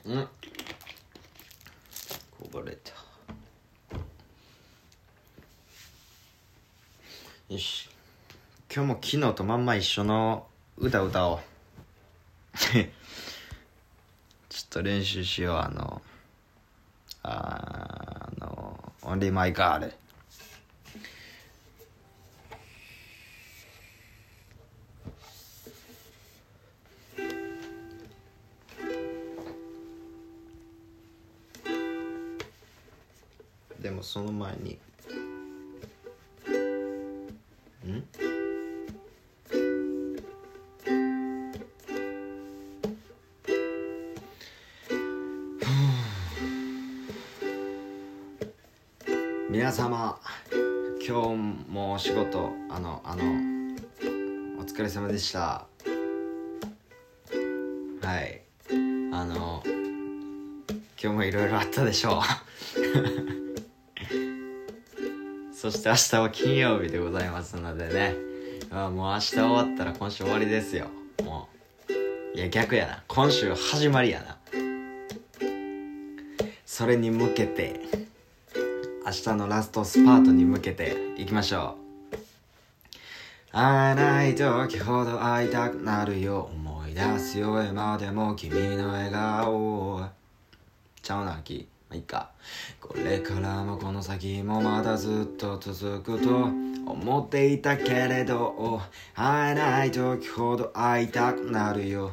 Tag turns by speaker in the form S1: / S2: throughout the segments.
S1: こぼれた。よし、今日も昨日とまんま一緒の歌歌おうちょっと練習しよう。Only My God。でもその前に皆様、今日もお仕事お疲れ様でした。はい、今日もいろいろあったでしょうそして明日は金曜日でございますのでね、もう明日終わったら今週終わりですよ。もういや逆やな、今週始まりやな。それに向けて、明日のラストスパートに向けていきましょう。会えない時ほど会いたくなるよ、思い出すよ今でも君の笑顔。ちゃうなき、まあ、いいか。これからもこの先もまだずっと続くと思っていたけれど、会えない時ほど会いたくなるよ。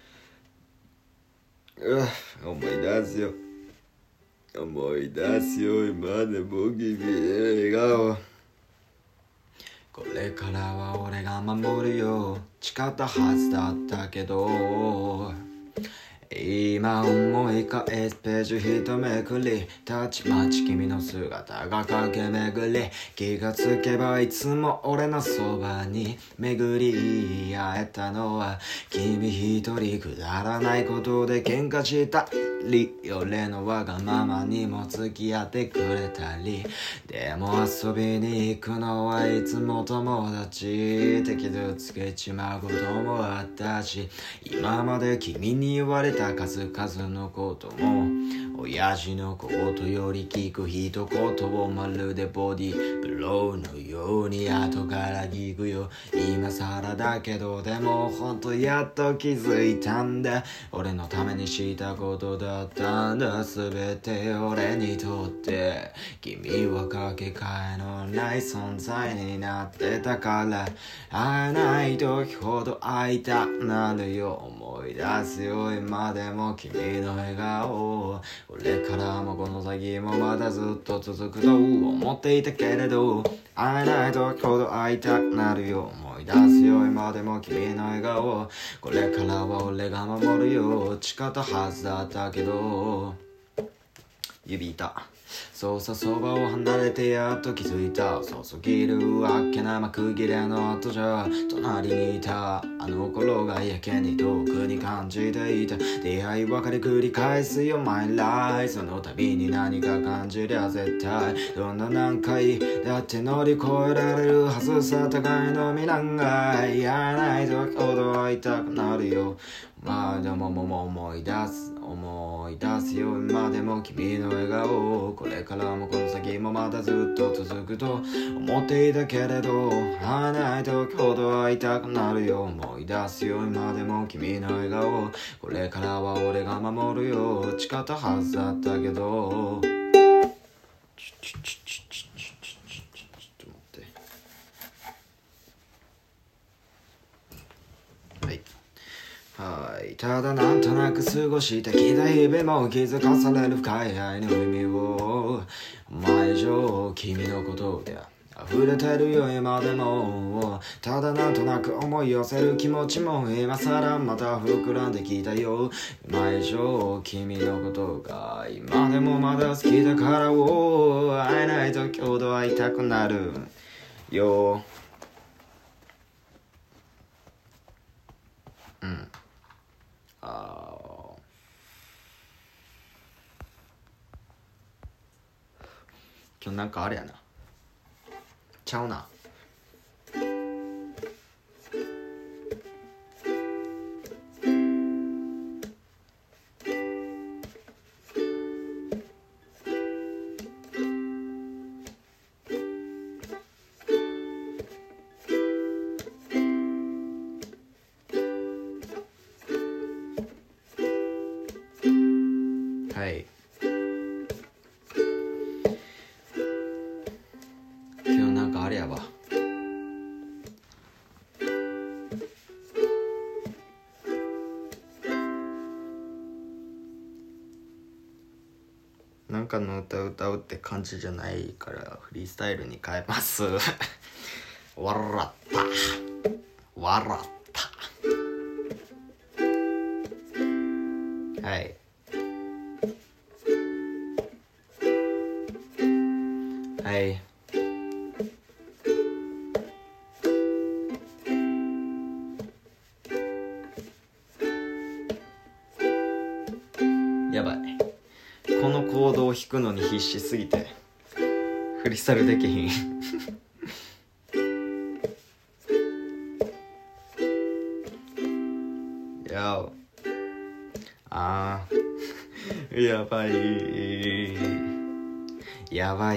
S1: 思い出すよ思い出すよ今でも君の笑顔。これからは俺が守るよ、誓ったはずだったけど、今思い返すページ一めくり、たちまち君の姿が駆け巡り、気がつけばいつも俺のそばに巡り会えたのは君一人。くだらないことで喧嘩したり、俺のわがままにも付き合ってくれたり、でも遊びに行くのはいつも友達って傷つけちまうこともあったし、今まで君に言われた数々のことも親父のことより聞く一言をまるでボディブローのように後から聞くよ。今更だけどでもほんとやっと気づいたんだ、俺のためにしたことだったんだ。全て俺にとって君はかけがえのない存在になってたから、会えない時ほど会いたくなるよ、思い出すよ今でも君の笑顔。これからもこの先もまだずっと続くと思っていたけれど、会えない時ほど会いたくなるよ、思い出すよ今でも君の笑顔。これからは俺が守るよ、誓ったはずだったけど。指痛。そうさ、そばを離れてやっと気づいた。そうすぎるわけな幕切れの後じゃ、隣にいたあの頃がやけに遠くに感じていた。出会い別れ繰り返すよ My life。 その度に何か感じりゃ絶対どんな何回だって乗り越えられるはずさ。互いの身なんか会えない時ほど会いたくなるよ。まあでも思い出すよ今でも君の笑顔。これからもこの先もまだずっと続くと思っていたけれど、会えない時ほど会いたくなるよ、思い出すよ今でも君の笑顔。これからは俺が守るよ、誓ったはずだったけど。ちょっと待って。はい、ただなんとなく過ごしてきた日々も気づかされる深い愛の意味を、前以上君のことで溢れてるよ今でも。ただなんとなく思い寄せる気持ちも今更また膨らんできたよ。前以上君のことが今でもまだ好きだから会えない時ほど会いたくなるよ。今日なんかあれやな、ちゃうな。 はい、今日なんかあれやわ、なんかの歌歌うって感じじゃないからフリースタイルに変えます笑った笑ったはいはいやばい、このコードを弾くのに必死すぎてフリースタイルできひんややばいやばい、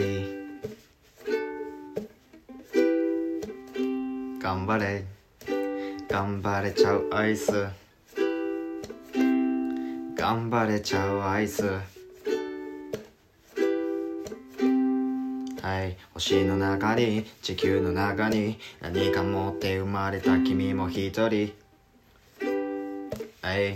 S1: 頑張れ頑張れちゃうアイス、頑張れちゃうアイス、はい、星の中に地球の中に何か持って生まれた君も一人、はい、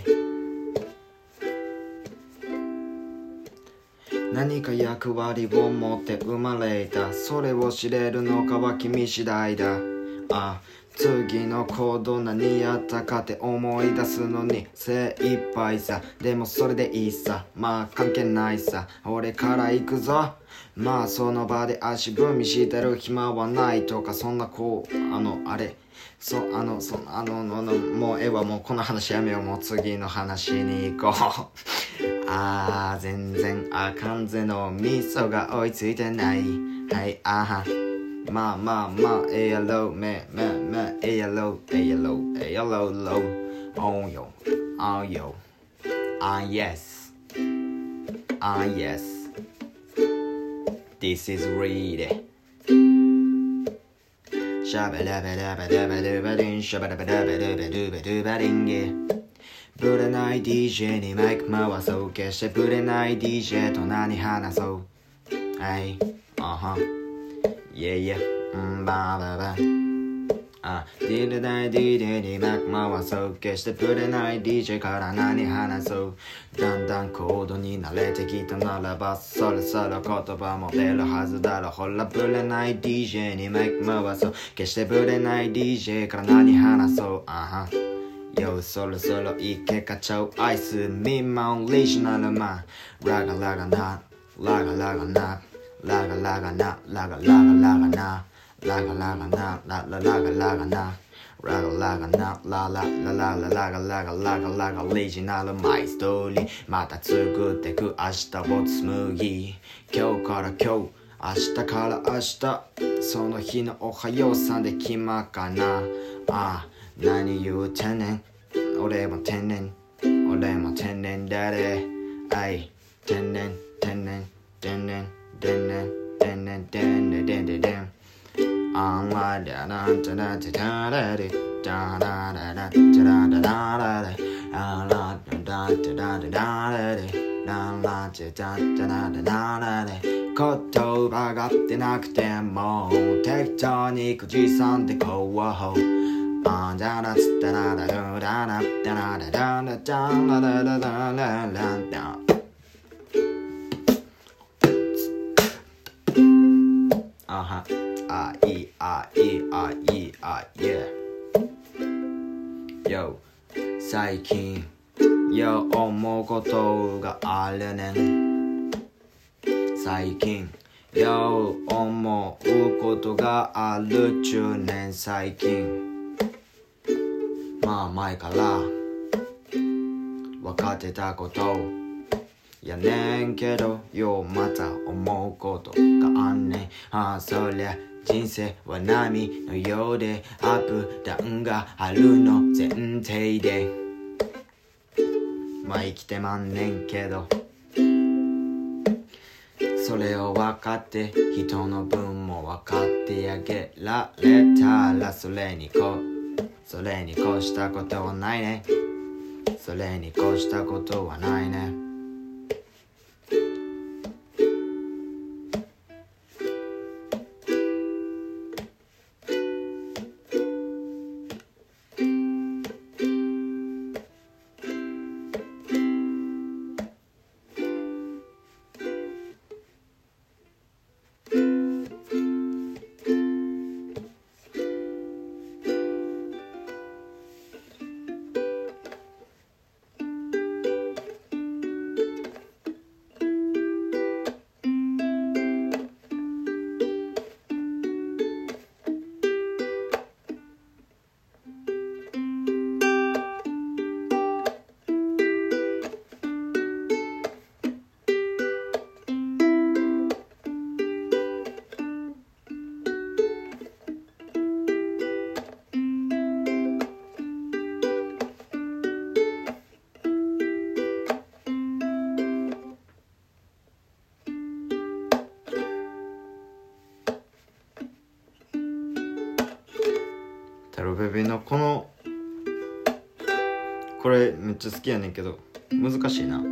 S1: 何か役割を持って生まれた、それを知れるのかは君次第だ。次の行動何やったかって思い出すのに精一杯さ、でもそれでいいさ、まあ関係ないさ、俺から行くぞ。まあその場で足踏みしてる暇はないとか、そんなこうあれもうええわ、もうこの話やめよう、もう次の話に行こう全然あかんぜの味噌が追いついてない、はいまあええやろええやろロおんよよyes this is reallyシャバラバラバラバラバリンシャバラバラバラバラバラバリンゲ、ぶれない DJ にマイク回そう、決してぶれない DJ と何話そう、はいyeahバババディルダイ DJ にマイク回そう、決してぶれない DJ から何話そう、だんだんコードに慣れてきたならばそろそろ言葉も出るはずだろ、ほらぶれない DJ にマイク回そう、決してぶれない DJ から何話そうよ、そろそろいけかちゃうアイスミンマンリジナルマンラガラガナラガラガナラガラガナラガラガラガナラガラガナラララガラガナラガラガナララララララガラガラガラガリジナルマイストーリー、また作ってく明日を紡ぎ、今日から今日明日から明日、その日のおはようさんで決まかな、何言うてんねん、俺も天然だれ、天然あんまりだなたなたたられだらららたららられあらだだだだだれららちだだだだられ、言葉が出なくても適当に口ずさんでこうだらつったらららららだららららだららららららYo 最近よ思うことがあるねん、最近よ思うことがあるちゅうねん、最近まあ前から分かってたことやねんけど、よまた思うことがあんねん、そりゃ人生は波のようでアップダウンがあるの前提で、まあ生きてまんねんけど、それを分かって人の分も分かってあげられたら、それに越したことはないね、それに越したことはないね、 ベベのこれめっちゃ好きやねんけど難しいな。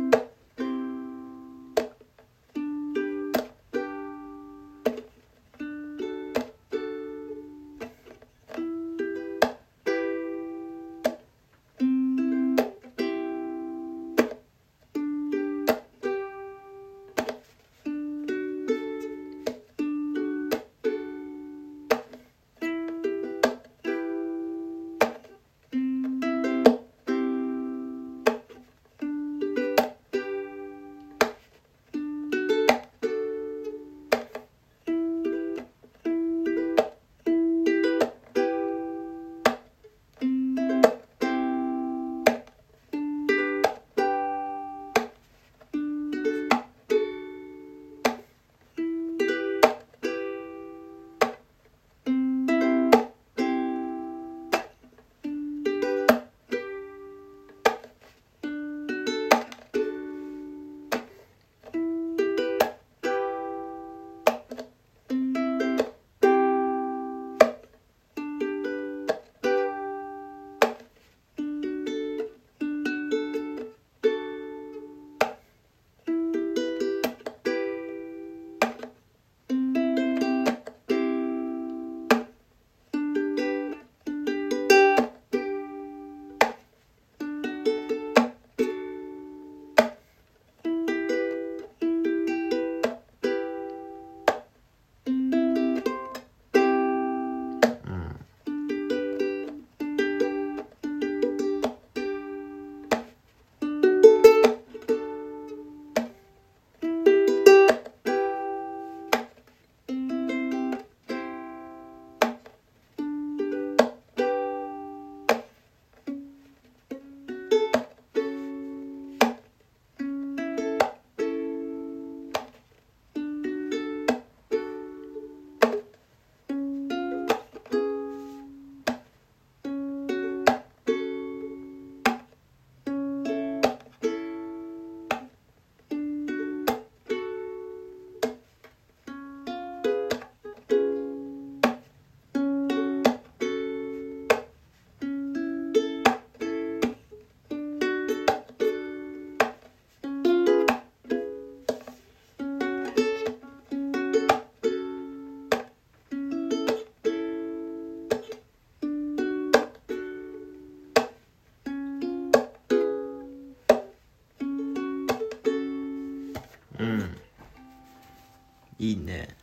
S1: いいね。